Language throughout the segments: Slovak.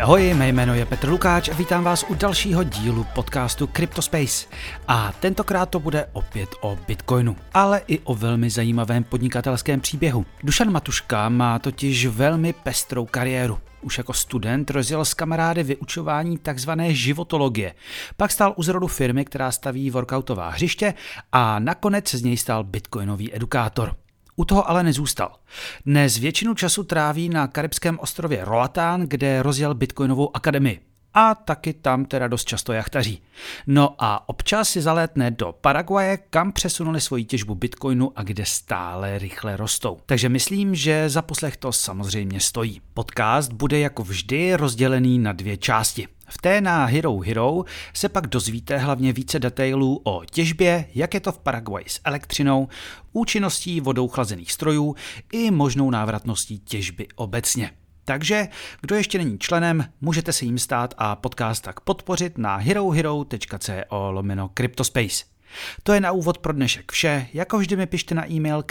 Ahoj, ahoj, mé jméno je Petr Lukáč a vítám vás u dalšího dílu podcastu CryptoSpace. A tentokrát to bude opět o Bitcoinu, ale i o velmi zajímavém podnikatelském příběhu. Dušan Matuška má totiž velmi pestrou kariéru. Už jako student rozjel s kamarády vyučování takzvané životologie. Pak stál u zrodu firmy, která staví workoutová hřiště a nakonec z něj stal bitcoinový edukátor. U toho ale nezůstal. Dnes většinu času tráví na karibském ostrově Roatán, kde rozjel bitcoinovou akademii. A taky tam teda dost často jachtaří. No a občas si zalétne do Paraguaje, kam přesunuli svoji těžbu bitcoinu a kde stále rychle rostou. Takže myslím, že za poslech to samozřejmě stojí. Podcast bude jako vždy rozdělený na dvě části. V té na Hero Hero se pak dozvíte hlavně více detailů o těžbě, jak je to v Paraguaji s elektřinou, účinností vodou chlazených strojů i možnou návratností těžby obecně. Takže, kdo ještě není členem, můžete se jim stát a podcast tak podpořit na herohero.co/CryptoSpace. To je na úvod pro dnešek vše, jako vždy mi pište na e-mail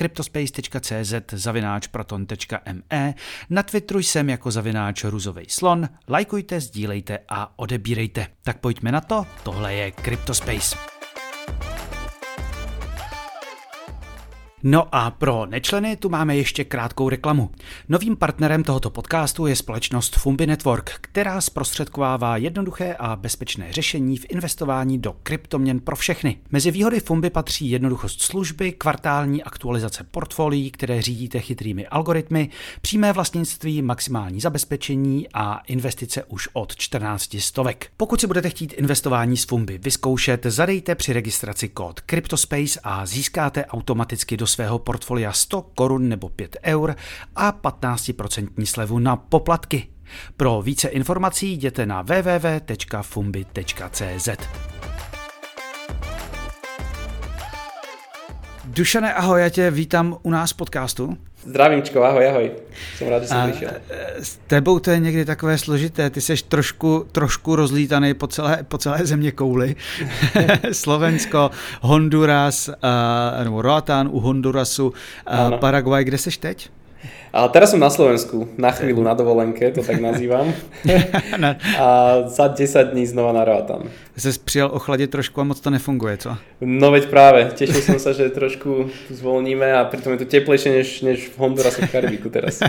cryptospace.cz@proton.me, na Twitteru jsem jako @ruzovejslon, lajkujte, sdílejte a odebírejte. Tak pojďme na to, tohle je CryptoSpace. No a pro nečleny tu máme ještě krátkou reklamu. Novým partnerem tohoto podcastu je společnost Fumbi Network, která zprostředkovává jednoduché a bezpečné řešení v investování do kryptoměn pro všechny. Mezi výhody Fumbi patří jednoduchost služby, kvartální aktualizace portfolií, které řídíte chytrými algoritmy, přímé vlastnictví, maximální zabezpečení a investice už od 14 stovek. Pokud si budete chtít investování s Fumbi vyzkoušet, zadejte při registraci kód CryptoSpace a získáte automaticky do svého portfolia 100 korun nebo 5 eur a 15% slevu na poplatky. Pro více informací jděte na www.fumbi.cz. Dušane, ahoj, já tě vítám u nás v podcastu. Zdravím,čko, ahoj. Jsem rád, že jsem přišel. S tebou to je někdy takové složité, ty seš trošku rozlítaný po celé země kouli. Slovensko, Honduras, nebo Roatán u Hondurasu, Paraguay, kde seš teď? A teraz som na Slovensku, na chvíľu na dovolenke, to tak nazývam. A za 10 dní znova na Roatán. Jsi přijel ochladit trošku a moc to nefunguje, co? No veď práve, tešil som sa, že trošku zvolníme a pritom je to teplejšie než v Hondurasu v Karibiku teraz.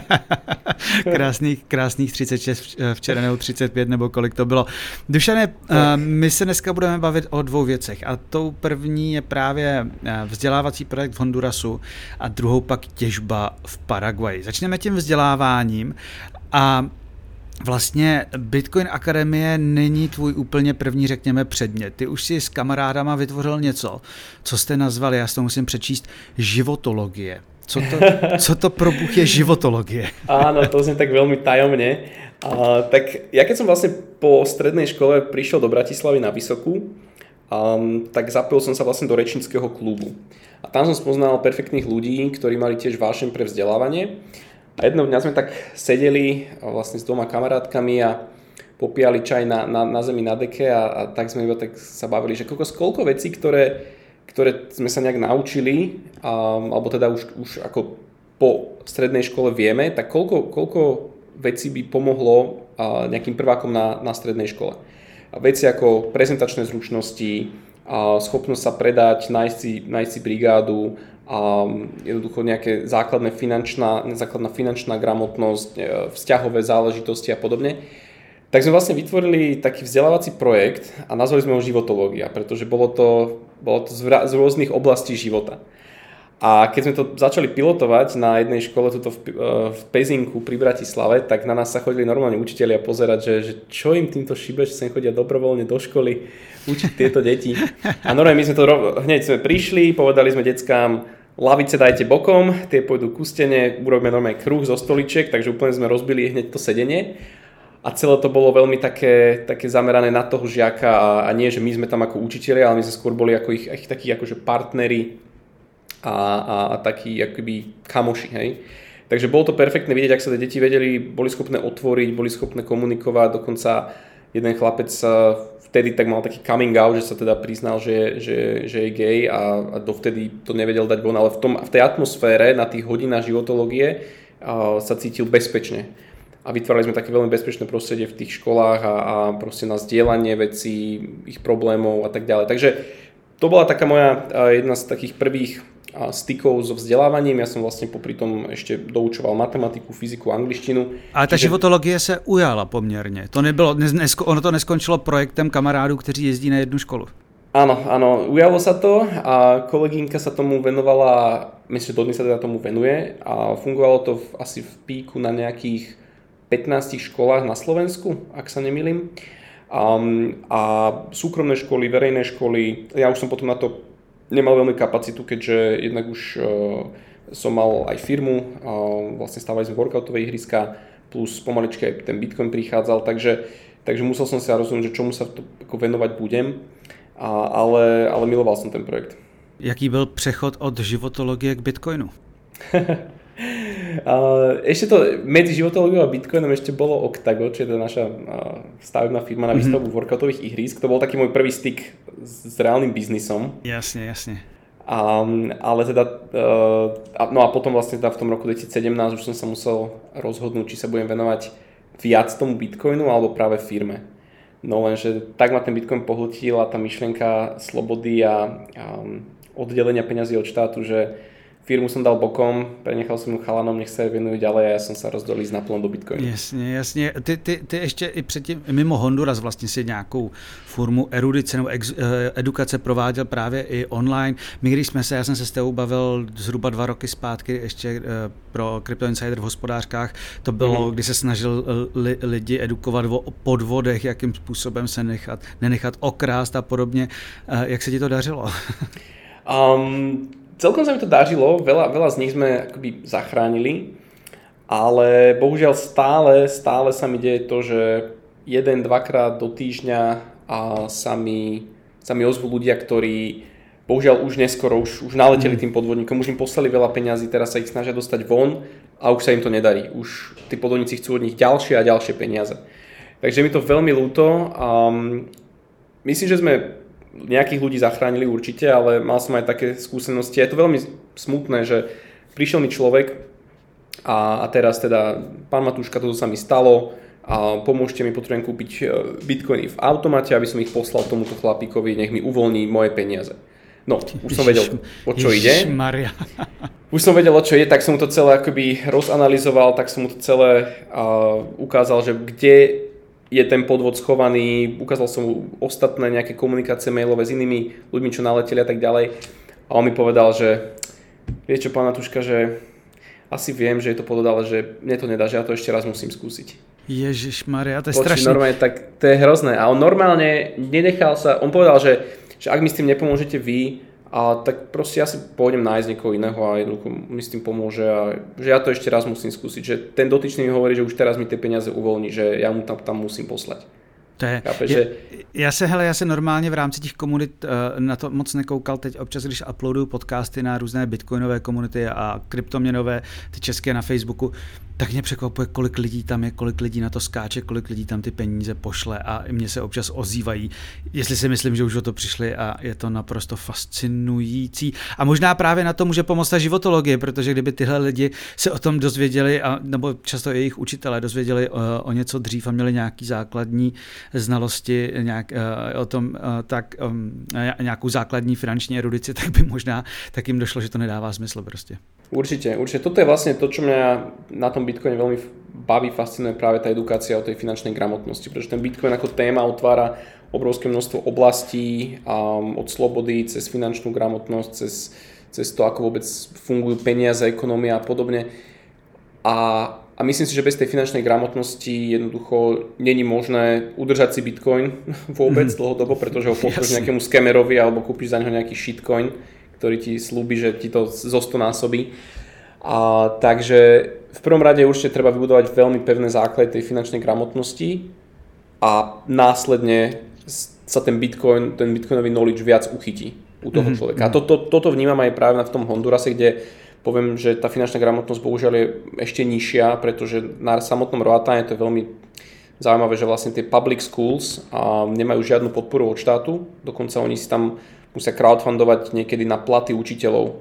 Krásných 36, včera nebo 35 nebo kolik to bylo. Dušane, my se dneska budeme bavit o dvou věcech a tou první je právě vzdělávací projekt v Hondurasu a druhou pak těžba v Paraguaji. Začneme tím vzděláváním a vlastně Bitcoin Akademie není tvůj úplně první, řekněme, předmět. Ty už si s kamarádama vytvořil něco, co jste nazvali, já si to musím přečíst, životologie. Co to pro Bůh je životologie? Áno, to znie tak veľmi tajomne. Tak ja keď som vlastne po strednej škole prišiel do Bratislavy na vysokú, tak zapojil som sa vlastne do rečníckeho klubu. A tam som spoznal perfektných ľudí, ktorí mali tiež vášeň pre vzdelávanie. A jedného dňa sme tak sedeli vlastne s dvoma kamarátkami a popíjali čaj na zemi na deke a tak sme iba tak sa bavili, že koľko vecí, ktoré sme sa nejak naučili, alebo teda už ako po strednej škole vieme, tak koľko vecí by pomohlo nejakým prvákom na strednej škole. Veci ako prezentačné zručnosti, schopnosť sa predať, nájsť si brigádu, jednoducho nejaké základná finančná gramotnosť, vzťahové záležitosti a podobne. Tak sme vlastne vytvorili taký vzdelávací projekt a nazvali sme ho životológia, pretože bolo to z rôznych oblastí života. A keď sme to začali pilotovať na jednej škole tuto v Pezinku pri Bratislave, tak na nás sa chodili normálne učitelia pozerať, že čo im týmto šíbe, že sem chodia dobrovoľne do školy učiť tieto deti. A normálne my sme to hneď prišli, povedali sme deckám, lavice dajte bokom, tie pôjdu ku stene, urobíme normálne kruh zo stoličiek, takže úplne sme rozbili hneď to sedenie. A celé to bolo veľmi také zamerané na toho žiaka a nie, že my sme tam ako učitelia, ale my sme skôr boli ako ich takí akože partneri a takí akoby kamoši, hej. Takže bolo to perfektné vidieť, ak sa tie deti boli schopné otvoriť, boli schopné komunikovať, dokonca jeden chlapec vtedy tak mal taký coming out, že sa teda priznal, že je gay a dovtedy to nevedel dať von, ale v tej atmosfére na tých hodinách životológie sa cítil bezpečne. a vytvárali sme také veľmi bezpečné prostredie v tých školách a proste na zdieľanie vecí, ich problémov a tak ďalej. Takže to bola taká moja jedna z takých prvých stykov so vzdelávaním. Ja som vlastne popri tom ešte doučoval matematiku, fyziku, angličtinu. Ale ta životologie se ujala poměrně. To nebylo, ono to neskončilo projektem kamarádů, kteří jezdí na jednu školu. Áno, ujalo sa to a kolegynka sa tomu venovala, myslím, že dodnes sa teda tomu venuje a fungovalo to asi v píku na nejakých 15 školách na Slovensku, ak sa nemýlim. A súkromné školy, verejné školy, ja už som potom na to nemal veľmi kapacitu, keďže jednak už som mal aj firmu, vlastne stávali sme workoutovej ihriska, plus pomaličky aj ten Bitcoin prichádzal, takže musel som sa rozhodnúť, že čomu sa to venovať budem, ale miloval som ten projekt. Jaký byl přechod od životologie k Bitcoinu? Ešte to medzi životológiou a Bitcoinom ešte bolo Octago, čo je to naša stavebná firma na výstavbu workoutových ihrísk. To bol taký môj prvý styk s reálnym biznisom. Jasne. Ale teda, no a potom vlastne teda v tom roku 2017 už som sa musel rozhodnúť, či sa budem venovať viac tomu Bitcoinu alebo práve firme. No lenže tak ma ten Bitcoin pohltil a tá myšlienka slobody a oddelenia peňazí od štátu, že firmu som dal bokom, prenechal som ju chalanom, nech sa venujú ďalej a ja som sa rozdol ísť naplno do Bitcoinu. Jasně. Ty ještě i předtím, mimo Honduras vlastně si nějakou formu erudice nebo edukace prováděl právě i online. Já jsem se s tebou bavil zhruba 2 roky zpátky ještě pro Crypto Insider v hospodářkách. To bylo, kdy se snažil lidi edukovat o podvodech, jakým způsobem se nenechat okrást a podobně. Jak se ti to dařilo? Celkom sa mi to dažilo, veľa z nich sme akoby zachránili, ale bohužiaľ stále sa mi deje to, že 1-2 krát do týždňa sa mi ozvú ľudia, ktorí bohužiaľ už neskoro, už naleteli tým podvodníkom, už im poslali veľa peňazí, teraz sa ich snažia dostať von a už sa im to nedarí. Už tí podvodníci chcú od nich ďalšie a ďalšie peniaze. Takže mi to veľmi ľúto. Myslím, že sme nejakých ľudí zachránili určite, ale mal som aj také skúsenosti. Je to veľmi smutné, že prišiel mi človek a teraz teda, pán Matúška, toto sa mi stalo a pomôžte mi, potrebujem kúpiť bitcoiny v automate, aby som ich poslal tomuto chlapíkovi, nech mi uvoľní moje peniaze. No, už som vedel, o čo ide. Už som vedel, o čo ide, tak som mu to celé akoby rozanalyzoval, tak som mu to celé ukázal, že kde je ten podvod schovaný, ukázal som mu ostatné nejaké komunikácie mailové s inými ľuďmi, čo naleteli a tak ďalej. A on mi povedal, že vie čo, pán Matúška, že asi viem, že je to podvod, ale že mne to nedá, že ja to ešte raz musím skúsiť. Ježišmaria, to je strašné. Normálne, tak to je hrozné. A on normálne nenechal sa, on povedal, že ak mi s tým nepomôžete vy, tak proste ja si pôjdem nájsť niekoho iného a jednoducho mi s tým pomôže a že ja to ešte raz musím skúsiť, že ten dotyčný mi hovorí, že už teraz mi tie peniaze uvoľní, že ja mu tam musím poslať. Já se normálně v rámci těch komunit na to moc nekoukal, teď občas, když uploaduju podcasty na různé bitcoinové komunity a kryptoměnové, ty české na Facebooku, tak mě překvapuje, kolik lidí tam je, kolik lidí na to skáče, kolik lidí tam ty peníze pošle a mě se občas ozývají, jestli si myslím, že už o to přišli a je to naprosto fascinující. A možná právě na to může pomoct ta životologie, protože kdyby tyhle lidi se o tom dozvěděli, nebo často jejich učitelé dozvěděli o něco dřív a měli nějaký základní znalosti o tom, tak nějakou základní finanční erudici, tak by možná tak jim došlo, že to nedává smysl prostě. Určite. Toto je vlastne to, čo mňa na tom Bitcoine veľmi baví, fascinuje práve tá edukácia o tej finančnej gramotnosti, pretože ten Bitcoin ako téma otvára obrovské množstvo oblastí od slobody cez finančnú gramotnosť, cez to, ako vôbec fungujú peniaze, ekonomia a podobne. A myslím si, že bez tej finančnej gramotnosti jednoducho není možné udržať si Bitcoin vôbec dlhodobo, pretože ho pošleš nejakému scamerovi alebo kúpiš za neho nejaký shitcoin, ktorý ti slúbi, že ti to zostonásobí. Takže v prvom rade určite treba vybudovať veľmi pevné základy tej finančnej gramotnosti a následne sa ten bitcoinový knowledge viac uchytí u toho človeka. A toto vnímam aj práve v tom Hondurase, kde poviem, že tá finančná gramotnosť bohužiaľ je ešte nižšia, pretože na samotnom Roatáne to je veľmi zaujímavé, že vlastne tie public schools nemajú žiadnu podporu od štátu, dokonca oni si tam musia crowdfundovať niekedy na platy učiteľov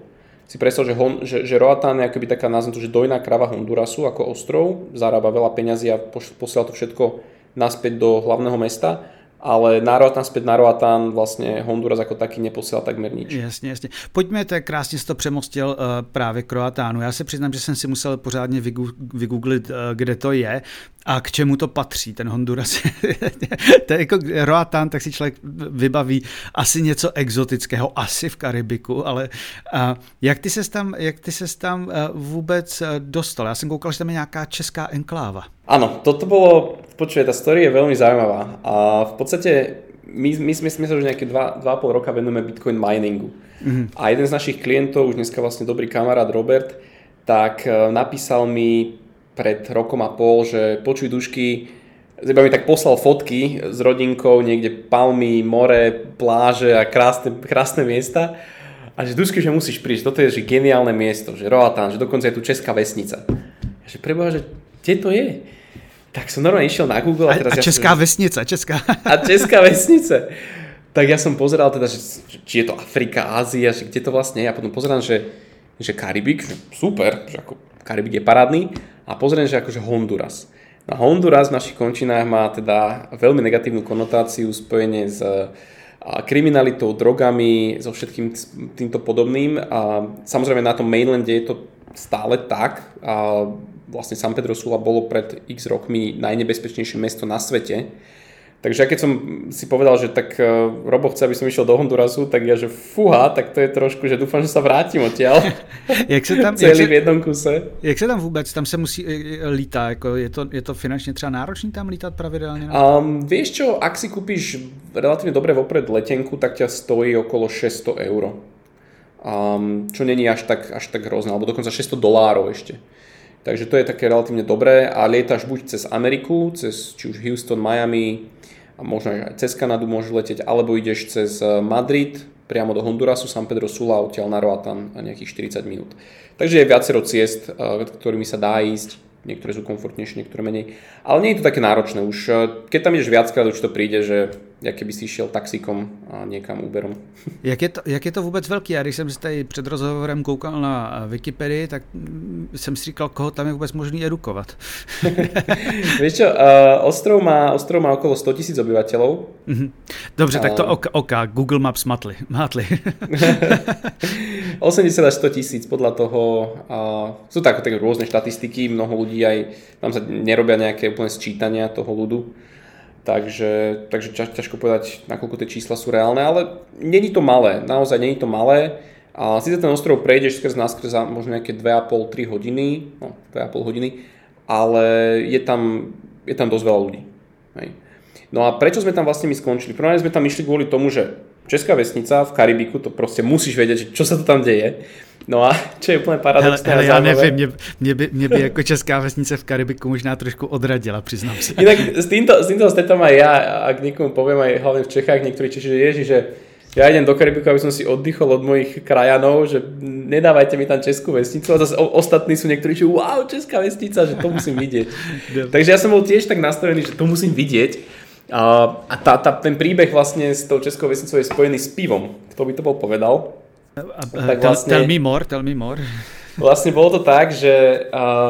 si predstav, že Roatán je akoby taká, nazvem to, že dojná krava Hondurasu ako ostrov, zarába veľa peňazí a posiela to všetko naspäť do hlavného mesta, ale naspäť na Roatán vlastně Honduras jako taky neposiela takmer nič. Jasně. Pojďme, tak krásně jsi to přemostil právě k Roatánu. Já se přiznám, že jsem si musel pořádně vygooglit, kde to je a k čemu to patří, ten Honduras. To je jako Roatán, tak si člověk vybaví asi něco exotického, asi v Karibiku, ale jak ty ses tam vůbec dostal? Já jsem koukal, že tam je nějaká česká enkláva. Áno, toto bolo, počuj, tá story je veľmi zaujímavá a v podstate my sme sa už nejaké 2,5 roka venujeme Bitcoin miningu. A jeden z našich klientov, už dneska vlastne dobrý kamarát Robert, tak napísal mi pred rokom a pol, že počuj Dušky, iba mi tak poslal fotky s rodinkou, niekde palmy, more, pláže a krásne miesta a že Dušky, že musíš prísť, toto je že geniálne miesto, že Roatán, že dokonca je tu česká vesnica. A že preboha, že kde to je? Tak som normálne išiel na Google. A česká vesnica. A česká vesnice. Tak ja som pozeral teda, že či je to Afrika, Ázia, že kde to vlastne je. A potom pozerám, že Karibik, že super, že ako Karibik je parádny. A pozerám, že akože Honduras. No Honduras v našich končinách má teda veľmi negatívnu konotáciu spojenie s kriminalitou, drogami, so všetkým týmto podobným. A samozrejme na tom mainlande je to stále tak. A vlastne San Pedro Sula bolo pred x rokmi najnebezpečnejšie mesto na svete. Takže keď som si povedal, že tak Robo chce, aby som išiel do Hondurasu, tak ja, že fúha, tak to je trošku, že dúfam, že sa vrátim odtiaľ. Celý v jednom kuse. Jak se tam vůbec, tam se musí lítá, jako je to finančně třeba náročný tam lítat pravidelně? Vieš čo, ak si kúpiš relatívne dobre vopred letenku, tak ťa stojí okolo 600 €. Čo není až tak hrozné, alebo dokonca $600 ešte. Takže to je také relatívne dobré a lietaš buď cez Ameriku, cez či už Houston, Miami a možno aj cez Kanadu môžeš letieť, alebo ideš cez Madrid priamo do Hondurasu, San Pedro Sula, odtiaľ na Roatán a nejakých 40 minút. Takže je viacero ciest, ktorými sa dá ísť. Niektoré sú komfortnejšie, niektoré menej. Ale nie je to také náročné. Už keď tam ideš viackrát, už to príde, že keby si šiel taxíkom a niekam Uberom. Jak je to vůbec velký? Já když jsem si tady před rozhovorem koukal na Wikipedii, tak jsem si říkal, koho tam je vůbec možný edukovat. Vieš čo, ostrov má okolo 100 000 obyvateľov. Dobře, tak to Google Maps mátli. 80 až 100 000 podľa toho. Sú tak rôzne štatistiky, mnoho ľudí aj tam sa nerobia nejaké úplne sčítania toho ľudu. Takže ťažko povedať, nakoľko tie čísla sú reálne, ale není to malé, naozaj není to malé. A síce ten ostrov prejdeš skrz za možno nejaké 2,5-3 hodiny, 2,5 hodiny, ale je tam dosť veľa ľudí. Hej. No a prečo sme tam vlastne my skončili? Prvé sme tam išli kvôli tomu, že česká vesnica v Karibiku, to proste musíš vedieť, čo sa to tam deje. No a čo je úplne paradoxné. Hele, já nevím, mě by jako česká vesnice v Karibiku možná trošku odradila, přiznám si. Inak s týmto stretom aj ja, ak niekomu poviem aj hlavne v Čechách, niektorí Češi, že ježi, že ja idem do Karibiku, aby som si oddychol od mojich krajanov, že nedávajte mi tam českú vesnicu, a zase ostatní sú niektorí, že wow, česká vesnica, že to musím vidieť. Takže ja som bol tiež tak nastavený, že to musím vidieť. A ten príbeh vlastne s tou českou vesnicou je spojený s pivom. Kto by to bol povedal? Tell me more. Vlastne bolo to tak, že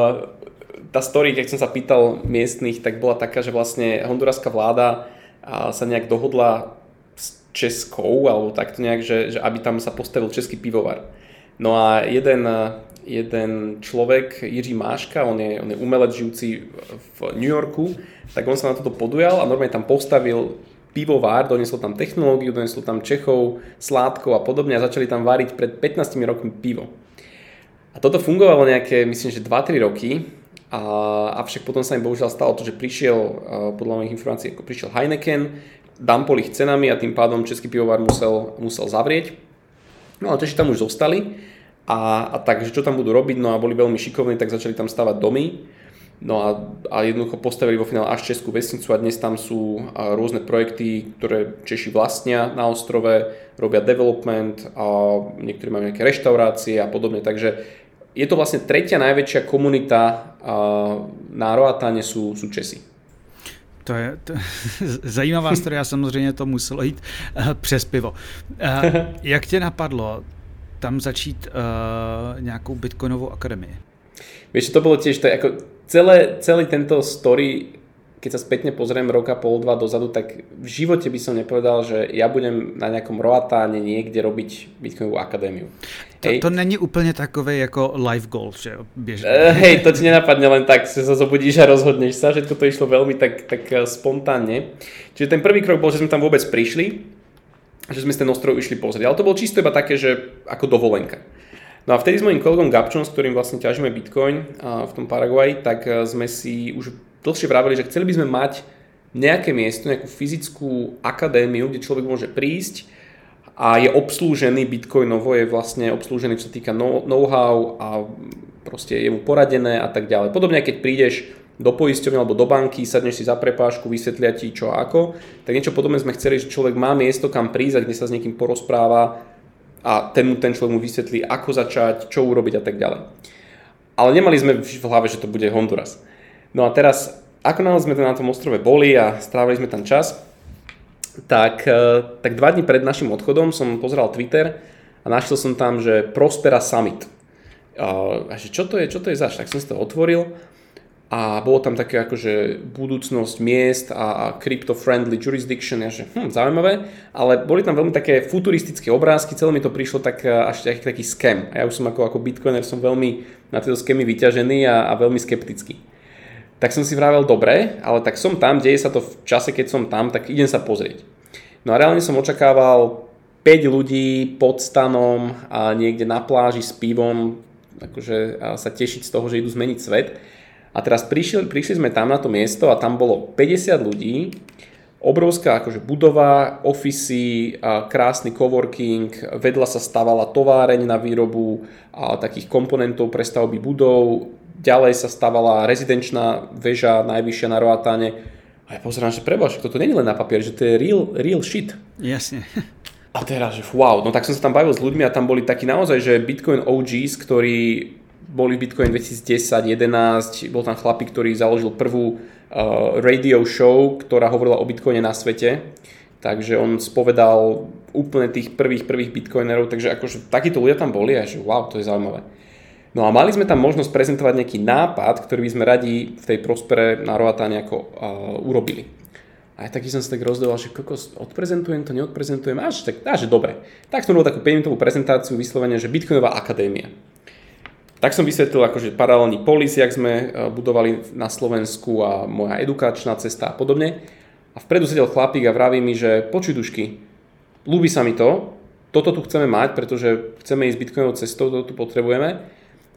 tá story, keď som sa pýtal miestnych, tak bola taká, že vlastne honduraská vláda sa nejak dohodla s českou, alebo takto nejak, že aby tam sa postavil český pivovar. No a jeden človek, Jiří Máška, on je umelec žijúci v New Yorku, tak on sa na toto podujal a normálne tam postavil pivovár, doniesol tam technológiu, doniesol tam Čechov, sládkov a podobne a začali tam váriť pred 15 rokmi pivo. A toto fungovalo nejaké, myslím, že 2-3 roky, avšak potom sa im bohužiaľ stalo to, že prišiel, podľa mojich informácií, ako prišiel Heineken, dampol ich cenami a tým pádom český pivovár musel zavrieť. No ale Češi tam už zostali a takže čo tam budú robiť, no a boli veľmi šikovní, tak začali tam stavať domy. No a jednoducho postavili vo finále až českú vesnicu a dnes tam sú rôzne projekty, ktoré Češi vlastnia na ostrove, robia development a niektorí majú nejaké reštaurácie a podobne. Takže je to vlastne tretia najväčšia komunita na Roatáne sú Česi. To je zajímavá story, samozřejmě to muselo jít přes pivo. Jak tě napadlo tam začít nějakou Bitcoinovou akademii? Vieš, to bolo tiež, to je ako celý tento story, keď sa spätne pozriem roka, pol, dva dozadu, tak v živote by som nepovedal, že ja budem na nejakom Roatáne niekde robiť Bitcoinovú akadémiu. To není úplně takový jako life goal, že jo? Hej, to ti nenapadne len tak, že sa zobudíš a rozhodneš sa, že toto išlo veľmi tak spontánne. Čiže ten prvý krok bol, že sme tam vôbec prišli, že sme z ten ostrov išli pozrieť. Ale to bolo čisto iba také, že ako dovolenka. No a vtedy s mojím kolegom Gabčom, s ktorým vlastne ťažíme Bitcoin v tom Paraguaji, tak sme si už dlhšie vraveli, že chceli by sme mať nejaké miesto, nejakú fyzickú akadémiu, kde človek môže prísť a je obslúžený bitcoinovo, je vlastne obslúžený, čo sa týka know-how a proste je mu poradené a tak ďalej. Podobne, keď prídeš do poisťovne alebo do banky, sadneš si za prepážku, vysvetlia ti čo a ako, tak niečo podobné sme chceli, že človek má miesto, kam prísť, kde sa s niekým porozpráva a ten človek mu vysvetlí, ako začať, čo urobiť a tak ďalej. Ale nemali sme v hlave, že to bude Honduras. No a teraz, ako náhle sme na tom ostrove boli a strávili sme tam čas, tak 2 dní pred našim odchodom som pozeral Twitter a našiel som tam, že Prospera Summit. A že čo to je zač? Tak som si to otvoril a bolo tam také akože budúcnosť miest a crypto-friendly jurisdiction, a že zaujímavé, ale boli tam veľmi také futuristické obrázky, celé mi to prišlo tak až taký scam. A ja už som ako bitcoiner som veľmi na tieto scamy vyťažený a veľmi skeptický. Tak som si vravel, dobre, ale tak som tam, deje sa to v čase, keď som tam, tak idem sa pozrieť. No a reálne som očakával 5 ľudí pod stanom a niekde na pláži s pivom, akože sa tešiť z toho, že idú zmeniť svet. A teraz prišli sme tam na to miesto a tam bolo 50 ľudí, obrovská akože budova, ofisy, krásny coworking, vedľa sa stavala továreň na výrobu takých komponentov pre stavby budov, ďalej sa stavala rezidenčná väža, najvyššia na Roatáne. A ja pozerám, že prebož, toto nie je len na papier, že to je real shit. Jasne. A teraz, že wow, no tak som sa tam bavil s ľuďmi a tam boli takí naozaj, že Bitcoin OGs, ktorí boli v Bitcoin 2010-11, bol tam chlapík, ktorý založil prvú radio show, ktorá hovorila o Bitcoine na svete. Takže on spovedal úplne tých prvých Bitcoinerov, takže akože takíto ľudia tam boli a že wow, to je zaujímavé. No a mali sme tam možnosť prezentovať nejaký nápad, ktorý by sme radi v tej Prospere na Roatáne ako urobili. A aj taký som sa tak rozdeval, že kokos, odprezentujem to, neodprezentujem, že dobre. Tak som robil takú 5-minútovú prezentáciu vyslovene, že Bitcoinová akadémia. Tak som vysvetlil akože paralelný polis, jak sme budovali na Slovensku a moja edukačná cesta a podobne. A vpredu sedel chlapík a vraví mi, že počuj Dušky, ľúbi sa mi to, toto tu chceme mať, pretože chceme ísť Bitcoinovou cestou, toto tu potrebujeme.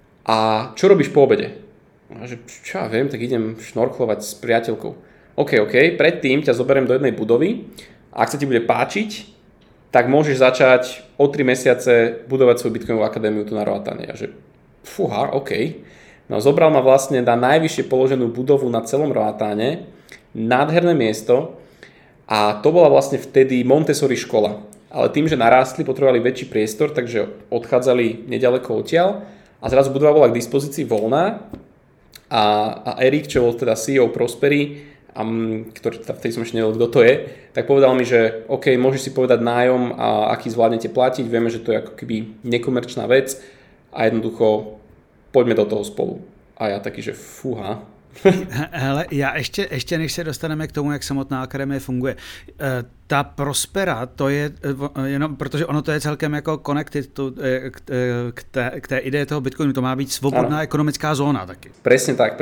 A čo robíš po obede? A že čo ja viem, tak idem šnorklovať s priateľkou. OK, predtým ťa zoberiem do jednej budovy a ak sa ti bude páčiť, tak môžeš začať o 3 mesiace budovať svoju Bitcoinovú akadémiu tu na Roatáne. A že fúha, OK. No zobral ma vlastne na najvyššie položenú budovu na celom Roatáne, nádherné miesto a to bola vlastne vtedy Montessori škola. Ale tým, že narástli, potrebovali väčší priestor, takže odchádzali nedaleko odtiaľ. A zrazu budova bola k dispozícii voľná a Erik, čo bol teda CEO Prospery, ktorý vtedy som ešte nevedel, kto to je, tak povedal mi, že OK, môžeš si povedať nájom a aký zvládnete platiť, vieme, že to je ako keby nekomerčná vec a jednoducho poďme do toho spolu. A ja taký, že fúha. Hele, já ještě než se dostaneme k tomu, jak samotná akademie funguje, ta Prospera, to je jenom, protože ono to je celkem jako connected k té ideje toho Bitcoinu, to má být svobodná ekonomická zóna taky. Presne tak.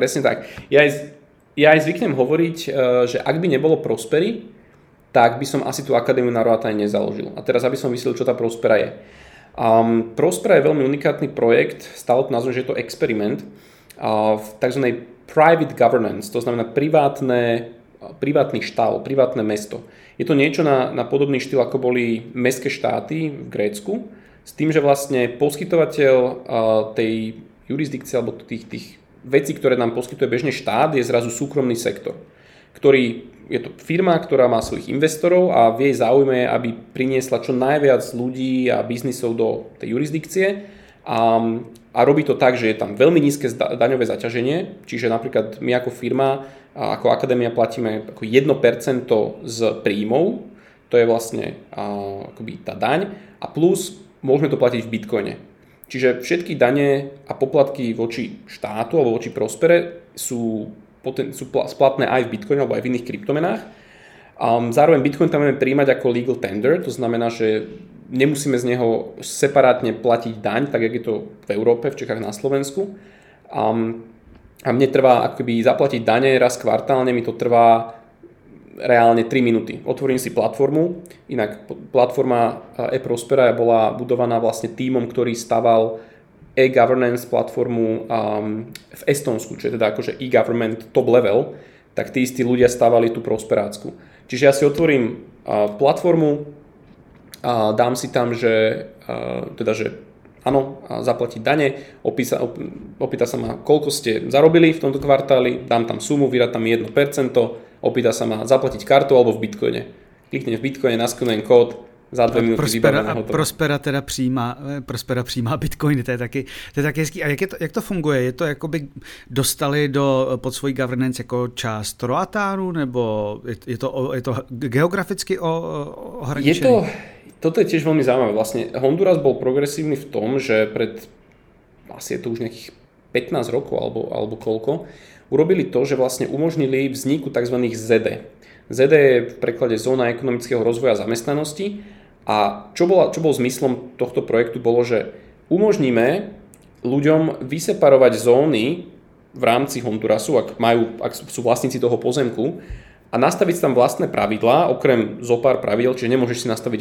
Ja aj zvyknem hovoriť, že ak by nebolo Prospery, tak by som asi tú akadémiu na Roatáne nezaložil. A teraz, aby som vysvetlil, čo tá Prospera je. Prospera je veľmi unikátny projekt, stále to nazvem, že je to experiment v tzv. Private governance, to znamená privátny štát, privátne mesto. Je to niečo na podobný štýl, ako boli mestské štáty v Grécku, s tým, že vlastne poskytovateľ tej jurisdikcie alebo tých vecí, ktoré nám poskytuje bežne štát, je zrazu súkromný sektor, je to firma, ktorá má svojich investorov a v jej záujme, aby priniesla čo najviac ľudí a biznisov do tej jurisdikcie. A robí to tak, že je tam veľmi nízke daňové zaťaženie, čiže napríklad my ako firma, ako akadémia platíme ako 1% z príjmov, to je vlastne akoby tá daň, a plus môžeme to platiť v bitcoine. Čiže všetky dane a poplatky voči štátu alebo voči Prospere sú splatné aj v bitcoine alebo aj v iných kryptomenách. Zároveň bitcoin tam budeme príjmať ako legal tender, to znamená, že nemusíme z neho separátne platiť daň, tak jak je to v Európe, v Čechách, na Slovensku. A mne trvá akoby zaplatiť dane raz kvartálne, mi to trvá reálne 3 minúty. Otvorím si platformu, inak platforma eProspera bola budovaná vlastne tímom, ktorý staval e-governance platformu v Estonsku, čo je teda akože e-government top level, tak tí istí ľudia stavali tú prosperácku. Čiže ja si otvorím platformu, dám si tam, že áno, zaplatiť dane, opýta sa ma, koľko ste zarobili v tomto kvartáli, dám tam sumu, vyrátam 1%, opýta sa ma zaplatiť kartou alebo v bitcoine. Kliknem v bitcoine, naskenujem kód, za 2 minúty vybavené hotovo. Prospera přijímá bitcoiny, to je taky hezký. A jak to funguje? Je to jakoby dostali pod svoji governance jako část Roatánu, nebo je to geograficky ohraničené? Toto je tiež veľmi zaujímavé. Vlastne Honduras bol progresívny v tom, že asi je to už nejakých 15 rokov alebo koľko, urobili to, že vlastne umožnili vzniku tzv. ZD. ZD je v preklade Zóna ekonomického rozvoja a zamestnanosti. A čo bol zmyslom tohto projektu, bolo, že umožníme ľuďom vyseparovať zóny v rámci Hondurasu, ak sú vlastníci toho pozemku, a nastaviť tam vlastné pravidlá, okrem zopár pravidel, čiže nemôžeš si nastaviť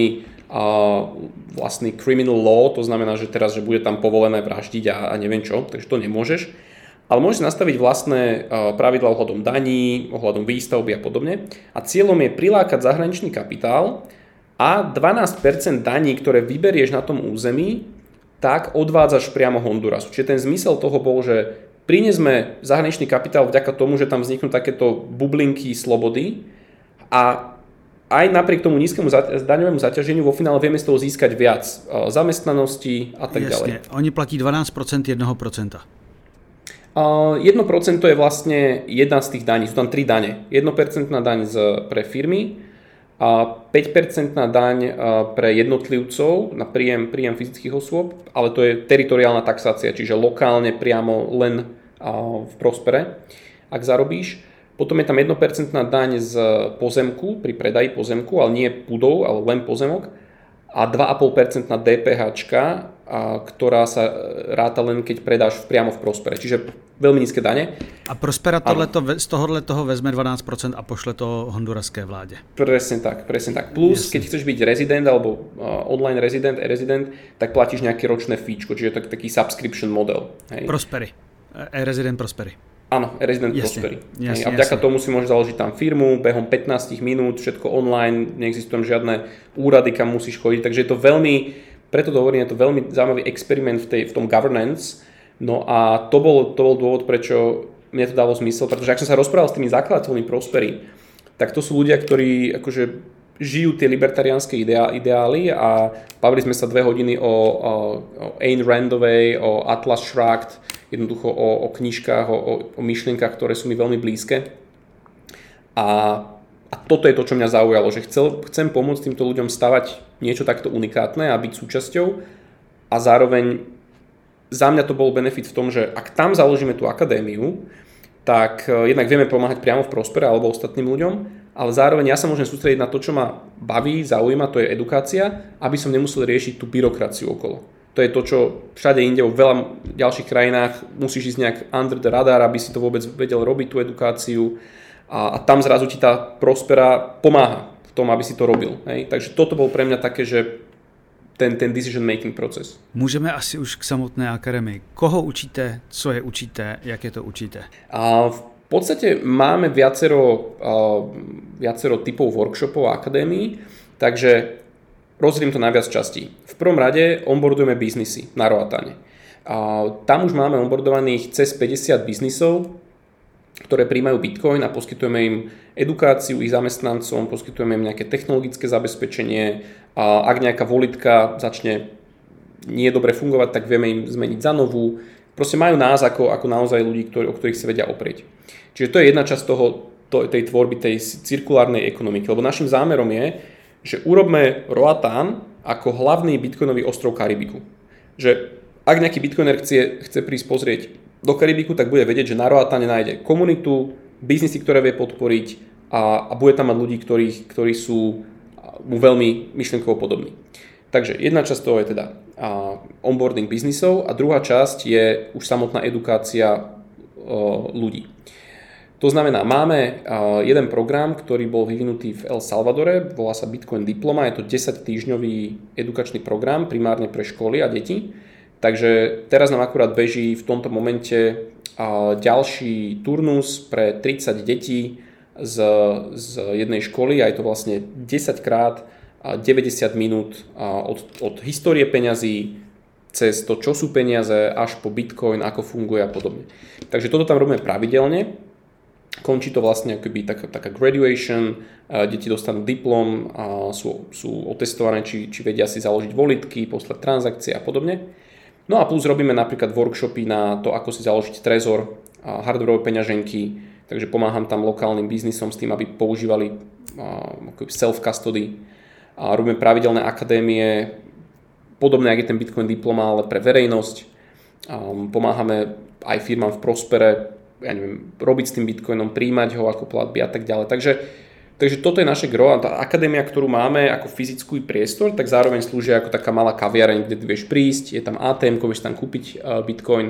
vlastný criminal law, to znamená, že teraz, že bude tam povolené vraždiť a neviem čo, takže to nemôžeš. Ale môžeš nastaviť vlastné pravidlá ohľadom daní, ohľadom výstavby a podobne. A cieľom je prilákať zahraničný kapitál a 12% daní, ktoré vyberieš na tom území, tak odvádzaš priamo Hondurasu. Čiže ten zmysel toho bol, že prinesme zahraničný kapitál vďaka tomu, že tam vzniknú takéto bublinky slobody a aj napriek tomu nízkemu daňovému zaťaženiu vo finále vieme z toho získať viac zamestnanosti a tak ďalej. Jasne, oni platí 12% 1%. 1% je vlastne jedna z tých daní, sú tam 3 dane. 1% daň pre firmy, a 5% daň pre jednotlivcov na príjem fyzických osôb, ale to je teritoriálna taxácia, čiže lokálne priamo len v Prospere, ak zarobíš. Potom je tam 1% daň z pozemku, pri predaji pozemku, ale nie budov, ale len pozemok. A 2,5% DPH, ktorá sa ráta len keď predáš priamo v Prospere. Čiže veľmi nízke dane. A Prospera z toho vezme 12% a pošle to honduraské vláde. Presne tak. Plus, keď chceš byť rezident alebo online rezident, e-rezident, tak platíš nejaké ročné fíčko, čiže to je taký subscription model. Hej. Prospery. E-rezident Prospery. Áno, e-rezident Prospery. A vďaka tomu si môžeš založiť tam firmu, behom 15 minút, všetko online, neexistujú žiadne úrady, kam musíš chodiť, takže je to preto to hovorím, je to veľmi zaujímavý experiment v tom governance. No a to bol dôvod, prečo mne to dalo zmysel, pretože ak som sa rozprával s tými zakladateľmi Prospery, tak to sú ľudia, ktorí akože žijú tie libertariánske ideály a bavili sme sa 2 hodiny o Ayn Randovej, o Atlas Shrugged, jednoducho o knižkách, o myšlienkach, ktoré sú mi veľmi blízke. A toto je to, čo mňa zaujalo, že chcem pomôcť týmto ľuďom stavať niečo takto unikátne a byť súčasťou. A zároveň za mňa to bol benefit v tom, že ak tam založíme tú akadémiu, tak jednak vieme pomáhať priamo v Prospere alebo ostatným ľuďom, ale zároveň ja sa môžem sústrediť na to, čo ma baví, zaujíma, to je edukácia, aby som nemusel riešiť tú byrokraciu okolo. To je to, čo všade inde, vo veľa ďalších krajinách musíš ísť nejak under the radar, aby si to vôbec vedel robiť, tú edukáciu. A tam zrazu ti tá Prospera pomáha v tom, aby si to robil. Hej? Takže toto bol pre mňa také, že ten decision making proces. Můžeme asi už k samotné akademii. Koho učíte, co je učíte, jak je to učíte? V podstate máme viacero typov workshopov a akadémií, takže rozdelím to na viac častí. V prvom rade onboardujeme biznisy na Roatane. Tam už máme onboardovaných cez 50 biznisov, ktoré príjmajú Bitcoin a poskytujeme im edukáciu ich zamestnancom, poskytujeme im nejaké technologické zabezpečenie a ak nejaká volitka začne nie dobre fungovať, tak vieme im zmeniť za novú. Proste majú nás ako naozaj ľudí, o ktorých sa vedia oprieť. Čiže to je jedna časť tej tvorby, tej cirkulárnej ekonomiky, lebo našim zámerom je, že urobme Roatan ako hlavný bitcoinový ostrov Karibiku. Že ak nejaký bitcoiner chce prísť pozrieť do Karibiku, tak bude vedieť, že na Roatane nájde komunitu, biznisy, ktoré vie podporiť a bude tam mať ľudí, ktorí sú mu veľmi myšlienkovo podobní. Takže jedna časť toho je teda onboarding biznisov a druhá časť je už samotná edukácia ľudí. To znamená, máme jeden program, ktorý bol vyvinutý v El Salvadore, volá sa Bitcoin Diploma, je to 10-týždňový edukačný program, primárne pre školy a deti. Takže teraz nám akurát beží v tomto momente ďalší turnus pre 30 detí z jednej školy a je to vlastne 10 krát 90 minút od histórie peňazí cez to, čo sú peniaze, až po Bitcoin, ako funguje a podobne. Takže toto tam robíme pravidelne. Končí to vlastne akoby taká graduation, deti dostanú diplom, sú otestované, či vedia si založiť volitky, poslať transakcie a podobne. No a plus robíme napríklad workshopy na to, ako si založiť trezor, hardwareové peňaženky, takže pomáham tam lokálnym biznisom s tým, aby používali self-custody. A robíme pravidelné akadémie, podobné, ako je ten Bitcoin Diploma, ale pre verejnosť. Pomáhame aj firmám v Prospere, ja neviem, robiť s tým Bitcoinom, príjmať ho ako platby a tak ďalej. Takže toto je naše gro a tá akadémia, ktorú máme ako fyzický priestor, tak zároveň slúži ako taká malá kaviareň, kde ty vieš prísť, je tam ATM, vieš tam kúpiť Bitcoin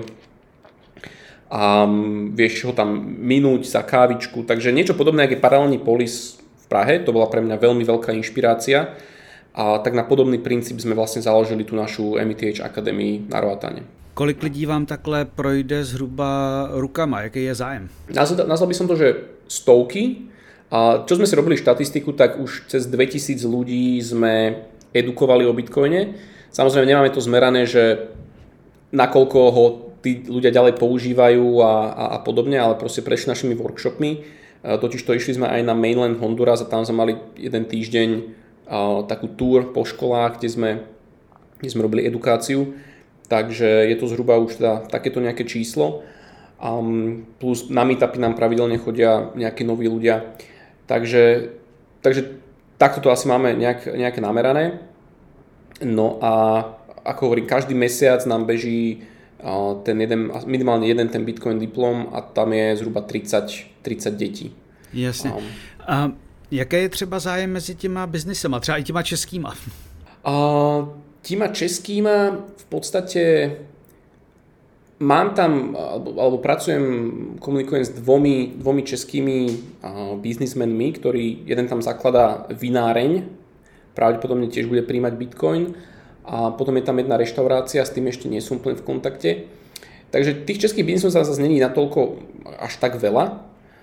a vieš ho tam minúť za kávičku. Takže niečo podobné, ako je paralelný polis v Prahe, to bola pre mňa veľmi veľká inšpirácia a tak na podobný princíp sme vlastne založili tú našu MTH Academy na Roatane. Kolik lidí vám takhle projde zhruba rukama? Jaký je zájem? Nazval by som to, že stovky. A čo sme si robili štatistiku, tak už cez 2000 ľudí sme edukovali o Bitcoine. Samozrejme nemáme to zmerané, že nakoľko ho tí ľudia ďalej používajú a podobne, ale proste prešli našimi workshopmi. Totiž to išli sme aj na mainland Honduras a tam sme mali jeden týždeň takú tour po školách, kde sme robili edukáciu. Takže je to zhruba už teda takéto nejaké číslo. Plus na meetupy nám pravidelne chodia nejakí noví ľudia. Takže takto to asi máme nejaké namerané. No a ako hovorím, každý mesiac nám beží minimálne jeden ten Bitcoin diplom a tam je zhruba 30 detí. Jasně. A jaké je třeba zájem mezi těma biznisema, třeba i těma českýma? Týma českýma v podstate mám tam, alebo komunikujem s dvomi českými biznismenmi, ktorý jeden tam zakladá vináreň, pravdepodobne tiež bude príjmať Bitcoin a potom je tam jedna reštaurácia, s tým ešte nie som úplne v kontakte. Takže tých českých biznisov zase není natoľko až tak veľa,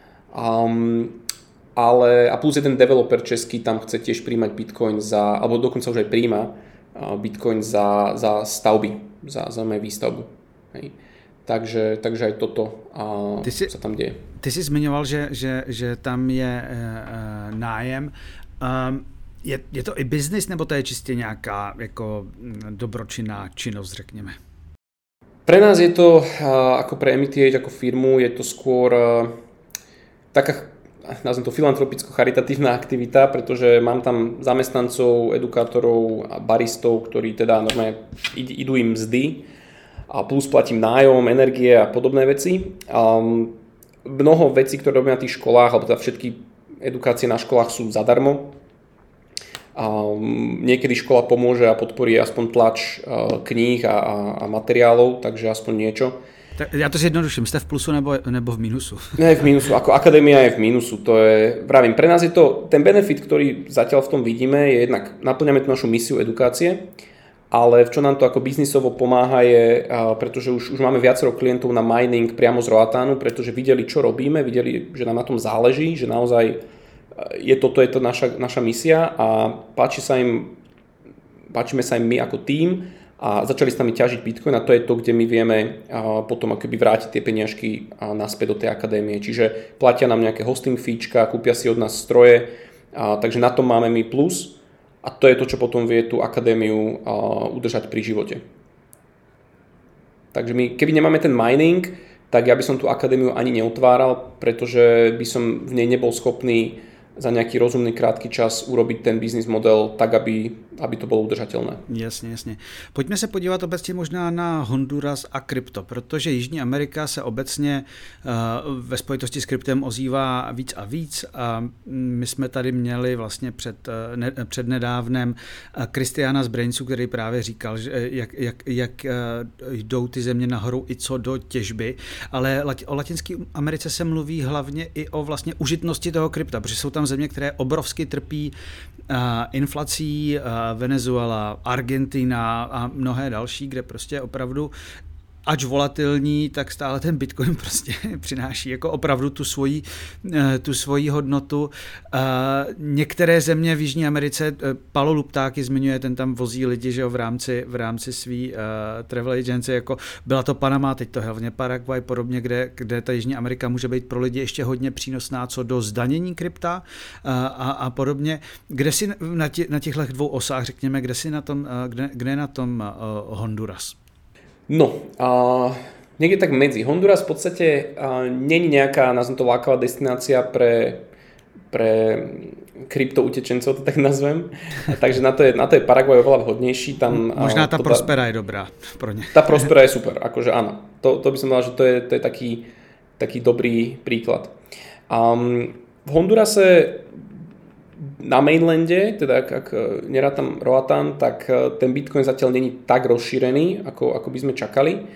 ale a plus jeden developer český tam chce tiež príjmať Bitcoin alebo dokonca už aj príjma Bitcoin za stavby, za výstavbu. Hej. Takže aj toto sa tam deje. Ty jsi zmiňoval, že tam je nájem. Je to i biznis, nebo to je čistě nějaká jako dobročinná činnosť, řekněme? Pre nás je to, ako pre MTH, ako firmu, je to skôr taká, nazvem to filantropicko-charitatívna aktivita, pretože mám tam zamestnancov, edukátorov a baristov, ktorí teda normálne idú im mzdy a plus platím nájom, energie a podobné veci. Mnoho vecí, ktoré robím na tých školách, alebo teda všetky edukácie na školách sú zadarmo. Niekedy škola pomôže a podporí aspoň tlač kníh a materiálov, takže aspoň niečo. Ja to zjednoduším, ste v plusu nebo v mínusu? Ne, v mínusu, ako akadémia je v mínusu, to je, pravím, pre nás je to, ten benefit, ktorý zatiaľ v tom vidíme, je jednak, naplňame tú našu misiu edukácie, ale v čo nám to ako biznisovo pomáha je, pretože už máme viacero klientov na mining priamo z Roatánu, pretože videli, čo robíme, videli, že nám na tom záleží, že naozaj toto je to naša misia a páčime sa im my ako tím a začali s nami ťažiť Bitcoin a to je to, kde my vieme potom akoby vrátiť tie peniažky naspäť do tej akadémie. Čiže platia nám nejaké hosting feečka, kúpia si od nás stroje, takže na tom máme my plus a to je to, čo potom vie tú akadémiu udržať pri živote. Takže my, keby nemáme ten mining, tak ja by som tú akadémiu ani neotváral, pretože by som v nej nebol schopný za nejaký rozumný krátky čas urobiť ten business model tak, aby to bylo udržatelné. Jasně, jasně. Pojďme se podívat obecně možná na Honduras a krypto, protože Jižní Amerika se obecně ve spojitosti s kryptem ozývá víc a víc. A my jsme tady měli vlastně před nedávnem Kristiána z Brainsu, který právě říkal, že jak jdou ty země nahoru i co do těžby, ale o Latinské Americe se mluví hlavně i o vlastně užitnosti toho krypta, protože jsou tam země, které obrovsky trpí inflací, Venezuela, Argentina a mnohé další, kde prostě opravdu ač volatilní, tak stále ten Bitcoin prostě přináší jako opravdu tu svoji hodnotu. Některé země v Jižní Americe, Palo Luptáky zmiňuje, ten tam vozí lidi, že jo, v rámci svý travel agency, jako byla to Panama, teď to hlavně Paraguay, podobně, kde ta Jižní Amerika může být pro lidi ještě hodně přínosná co do zdanění krypta a podobně. Kde si na těchto dvou osách, řekněme, kde je na tom Honduras? No, niekde tak medzi. Honduras v podstate není nejaká, nazvem to, lákavá destinácia pre kryptoutečencov, to tak nazvem. Takže na to je Paraguay oveľa vhodnejší. Tam, možná tá Prospera je dobrá pro ne. Tá Prospera je super, akože áno. To by som povedal, že to je taký dobrý príklad. V Hondurase na mainlande, teda ak nerátam Roatán, tak ten Bitcoin zatiaľ není tak rozšírený, ako by sme čakali.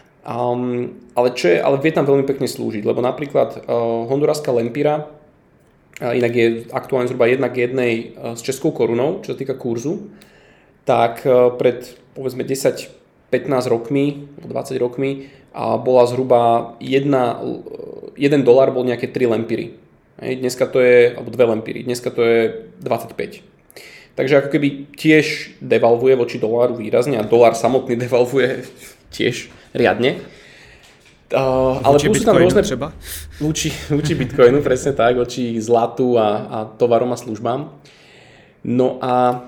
Ale vie tam veľmi pekne slúžiť, lebo napríklad honduraská lempira inak je aktuálne zhruba 1:1 s českou korunou, čo sa týka kurzu, tak pred povedzme 10-15 rokmi, 20 rokmi bola zhruba $1 bol nejaké 3 lempiry. Dneska to je, alebo 2 lempiry, dneska to je 25. Takže ako keby tiež devalvuje voči doláru výrazne a dolár samotný devalvuje tiež riadne. Ale plus sú tam rôzne třeba? Voči Bitcoinu, presne tak, voči zlatu a tovarom a službám. No a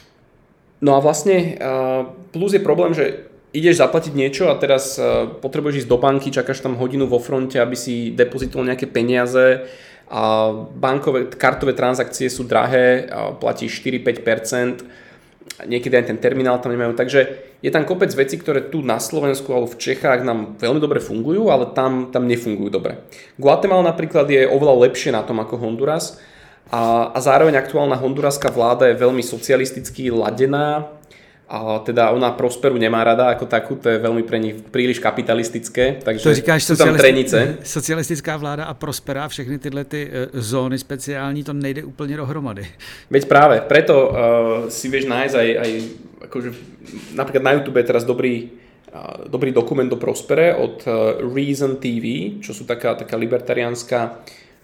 vlastne plus je problém, že ideš zaplatiť niečo a teraz potrebuješ ísť do banky, čakáš tam hodinu vo fronte, aby si depozitoval nejaké peniaze a kartové transakcie sú drahé, platíš 4-5%, niekedy aj ten terminál tam nemajú, takže je tam kopec vecí, ktoré tu na Slovensku alebo v Čechách nám veľmi dobre fungujú, ale tam nefungujú dobre. Guatemala napríklad je oveľa lepšie na tom ako Honduras a zároveň aktuálna honduraská vláda je veľmi socialisticky ladená. A teda ona Prosperu nemá rada ako takú, to je veľmi pre nich príliš kapitalistické, takže to říkáš, sú tam trenice. Socialistická vláda a Prospera a všechny tyhle ty zóny speciální, to nejde úplně dohromady. Veď práve, preto si vieš nájsť aj akože, napríklad na YouTube je teraz dobrý dokument o Prospere od Reason TV, čo sú taká libertariánska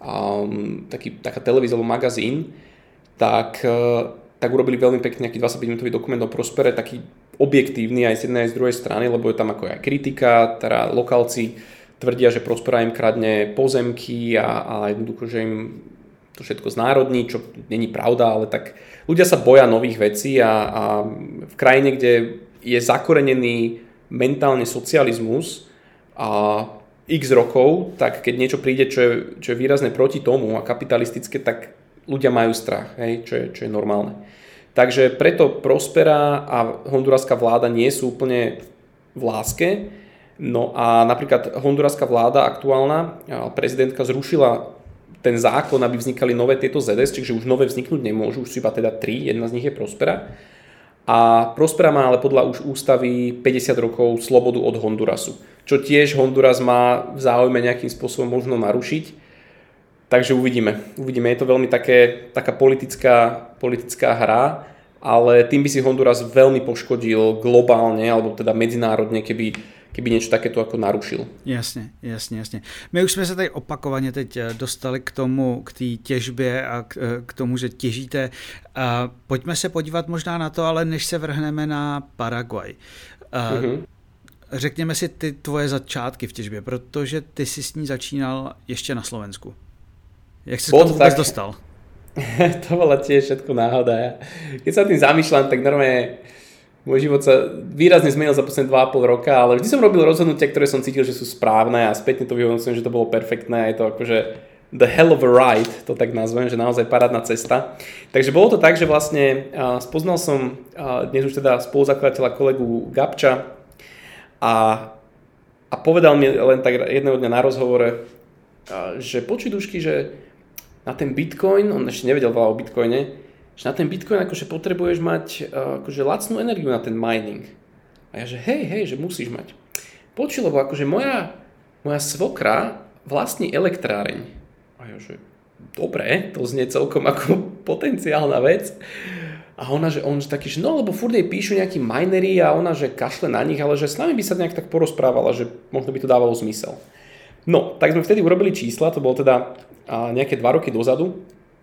taká televízia alebo magazín, tak urobili veľmi pekne nejaký 25-minútový dokument o Prospere, taký objektívny aj z jednej aj z druhej strany, lebo je tam ako aj kritika, teda lokálci tvrdia, že Prospera im kradne pozemky a jednoducho, že im to všetko znárodní, čo není pravda, ale tak ľudia sa boja nových vecí a v krajine, kde je zakorenený mentálne socializmus a x rokov, tak keď niečo príde, čo je výrazne proti tomu a kapitalistické, tak ľudia majú strach, hej, čo je normálne. Takže preto Prospera a honduraská vláda nie sú úplne v láske. No a napríklad honduraská vláda aktuálna, prezidentka zrušila ten zákon, aby vznikali nové tieto ZS, čiže už nové vzniknúť nemôžu, už sú iba teda 3, jedna z nich je Prospera. A Prospera má ale podľa už ústavy 50 rokov slobodu od Hondurasu, čo tiež Honduras má v záujme nejakým spôsobom možno narušiť. Takže uvidíme. Je to veľmi taká politická hra, ale tým by si Honduras veľmi poškodil globálne, alebo teda medzinárodne, keby niečo takéto ako narušil. Jasně. My už jsme se tady opakovaně teď dostali k té těžbě a k tomu, že těžíte. Pojďme se podívat možná na to, ale než se vrhneme na Paraguay. Řekněme si ty tvoje začátky v těžbě, protože ty jsi s ní začínal ještě na Slovensku. Jak si to vôbec dostal? To bola tiež všetko náhoda. Keď sa tým zamýšľam, tak normálne môj život sa výrazne zmenil za posledné 2,5 roka, ale vždy som robil rozhodnutia, ktoré som cítil, že sú správne a spätne to vyhodnocujem, že to bolo perfektné a je to akože the hell of a ride, to tak nazvem, že naozaj parádna cesta. Takže bolo to tak, že vlastne spoznal som dnes už teda spoluzakladateľa kolegu Gabča a povedal mi len tak jedného dňa na rozhovore, že počuj Dušky, že na ten Bitcoin, on ešte nevedel veľa o Bitcoine, že na ten Bitcoin akože potrebuješ mať akože lacnú energiu na ten mining. A ja že hej, že musíš mať. Počuj, lebo akože moja svokra vlastní elektráreň. A ja že dobre, to znie celkom ako potenciálna vec. A ona, že on taký, že no lebo furt jej píšu nejakí minery a ona, že kašle na nich, ale že s nami by sa nejak tak porozprávala, že možno by to dávalo zmysel. No, tak sme vtedy urobili čísla, to bolo teda nejaké 2 roky dozadu.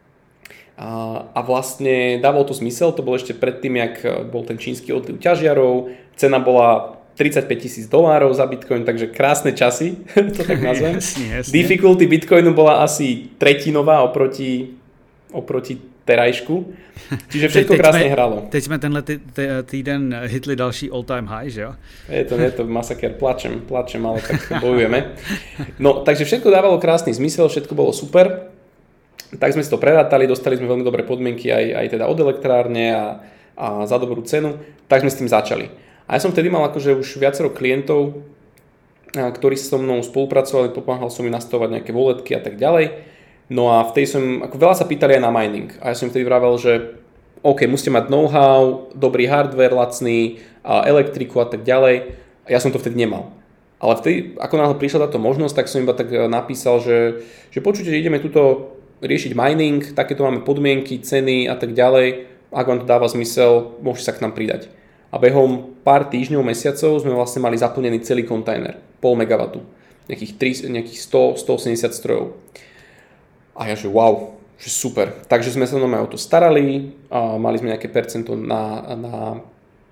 A vlastne dávalo to zmysel, to bolo ešte predtým, jak bol ten čínsky odliv ťažiarov, cena bola $35,000 za Bitcoin, takže krásne časy, to tak nazvem. Jasne. Difficulty Bitcoinu bola asi tretinová oproti terajšku, čiže všetko krásne hralo. Teď jsme tenhle týden hitli další all-time high, že jo? Je to masaker, plačem, ale tak bojujeme. No, takže všetko dávalo krásny zmysel, všetko bolo super. Tak sme si to prerátali, dostali sme veľmi dobré podmienky aj teda od elektrárne a za dobrú cenu, tak sme s tým začali. A ja som vtedy mal akože už viacero klientov, ktorí so mnou spolupracovali, pomáhal som im nastavovať nejaké walletky a tak ďalej. No a vtedy ako veľa sa pýtali aj na mining. A ja som vtedy vravel, že OK, musíte mať know-how, dobrý hardware, lacný, elektriku a tak ďalej. A ja som to vtedy nemal. Ale vtedy, ako náhle prišla táto možnosť, tak som iba tak napísal, že počujte, že ideme tuto riešiť mining, takéto máme podmienky, ceny a tak ďalej. Ak vám to dáva zmysel, môžete sa k nám pridať. A behom pár týždňov, mesiacov sme vlastne mali zaplnený celý kontajner, 0,5 MW, nejakých 100-180 strojov. A ja že wow, že super. Takže sme sa o to starali, mali sme nejaké percento na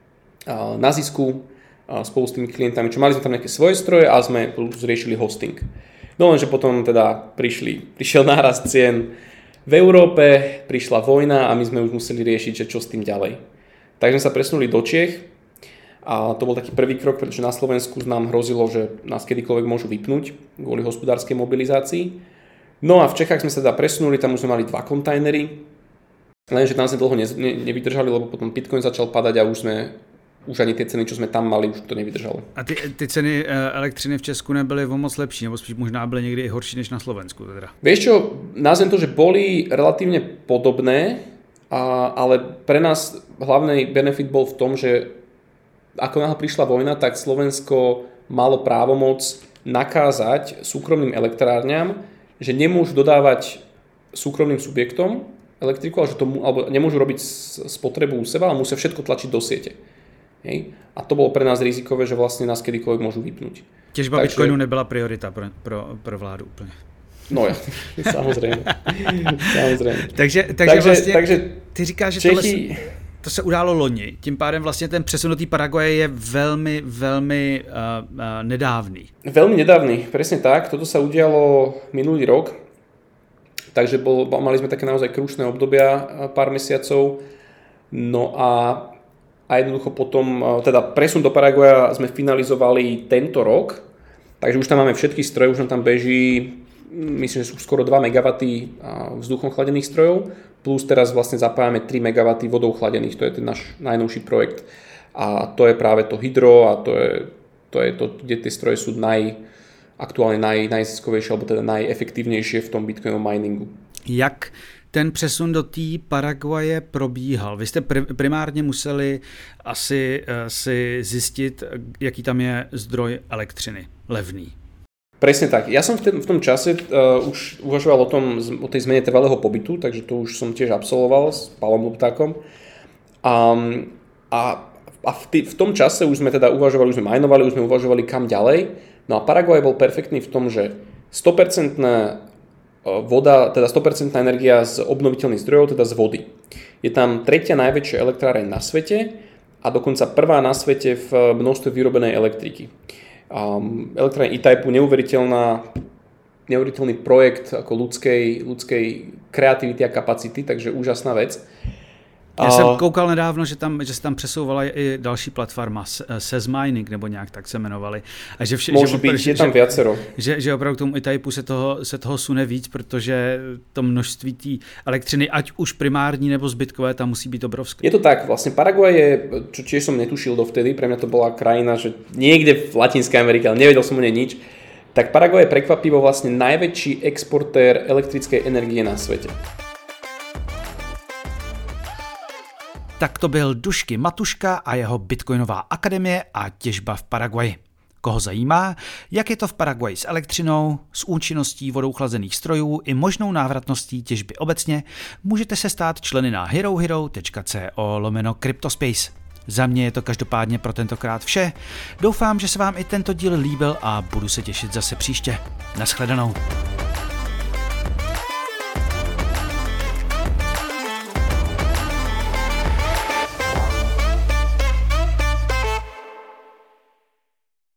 zisku spolu s tými klientami, čo mali sme tam nejaké svoje stroje a sme zriešili hosting. No lenže potom teda prišiel nárast cien v Európe, prišla vojna a my sme už museli riešiť, že čo s tým ďalej. Tak sme sa presunuli do Čiech a to bol taký prvý krok, pretože na Slovensku nám hrozilo, že nás kedykoľvek môžu vypnúť kvôli hospodárskej mobilizácii. No a v Čechách sme sa teda presunuli, tam už sme mali 2 kontajnery, lenže tam sme dlho nevydržali, lebo potom Bitcoin začal padať a už ani tie ceny, čo sme tam mali, už to nevydržalo. A ty ceny elektřiny v Česku nebyly o moc lepší, nebo spíš možná byly někdy i horší než na Slovensku? Teda. Vieš čo, nazvem to, že boli relatívne podobné, ale pre nás hlavný benefit bol v tom, že ako náhle prišla vojna, tak Slovensko malo právomoc nakázať súkromným elektrárňam, že nemôžu dodávať súkromným subjektom elektriku, alebo nemôžu robiť spotrebu u seba, ale musia všetko tlačiť do siete. Hej? A to bolo pre nás rizikové, že vlastne nás kedykoľvek môžu vypnúť. Těžba Bitcoinu nebyla priorita pro vládu úplně. No ja, samozrejme. Takže ty říkáš, že to se událo loni, tím pádem vlastně ten přesun do té Paraguaje je velmi, velmi nedávný. Veľmi nedávny, presne tak. Toto sa udialo minulý rok, takže mali sme také naozaj krušné obdobia, pár mesiacov. No a jednoducho potom, teda presun do Paraguaja sme finalizovali tento rok, takže už tam máme všetky stroje, už tam beží, myslím, že sú skoro 2 MW vzduchom chladených strojov, plus teraz vlastne zapájame 3 MW vodou chladených, to je ten náš najnovší projekt. A to je práve to hydro a to je to, kde tie stroje sú aktuálne najziskovejšie alebo teda najefektívnejšie v tom Bitcoinovom miningu. Jak ten přesun do té Paraguaje probíhal? Vy jste primárně museli asi si zjistit, jaký tam je zdroj elektřiny levný. Presne tak. Ja som v tom čase už uvažoval o tej zmene trvalého pobytu, takže to už som tiež absolvoval s Pálom Luptákom. A v tom čase už sme teda uvažovali, už sme minovali, už sme uvažovali kam ďalej. No a Paraguaj bol perfektný v tom, že 100% voda, teda 100% energia z obnoviteľných zdrojov, teda z vody. Je tam tretia najväčšia elektráreň na svete a dokonca prvá na svete v množstve vyrobenej elektriky. Elektrárne Itaipu, neuveriteľný projekt ako ľudskej kreativity a kapacity, takže úžasná vec. Já jsem koukal nedávno, že se tam přesouvala i další platforma, Sezmining, nebo nějak tak se jmenovali. A že Môže byť, je tam viacero. Že opravdu k tomu E-Typu se toho sune víc, protože to množství té elektřiny, ať už primární nebo zbytkové, tam musí být obrovské. Je to tak, vlastne Paraguay je, čo tiež som netušil dovtedy, pre mňa to bola krajina, že niekde v Latinskej Amerike, ale nevedel som o nej nič, tak Paraguay je prekvapivo vlastne najväčší exportér elektrickej energie na svete. Tak to byl Dušky Matuška a jeho Bitcoinová akademie a těžba v Paraguaji. Koho zajímá, jak je to v Paraguaji s elektřinou, s účinností vodou chlazených strojů i možnou návratností těžby obecně, můžete se stát členy na herohero.co/cryptospace. Za mě je to každopádně pro tentokrát vše. Doufám, že se vám i tento díl líbil a budu se těšit zase příště. Naschledanou.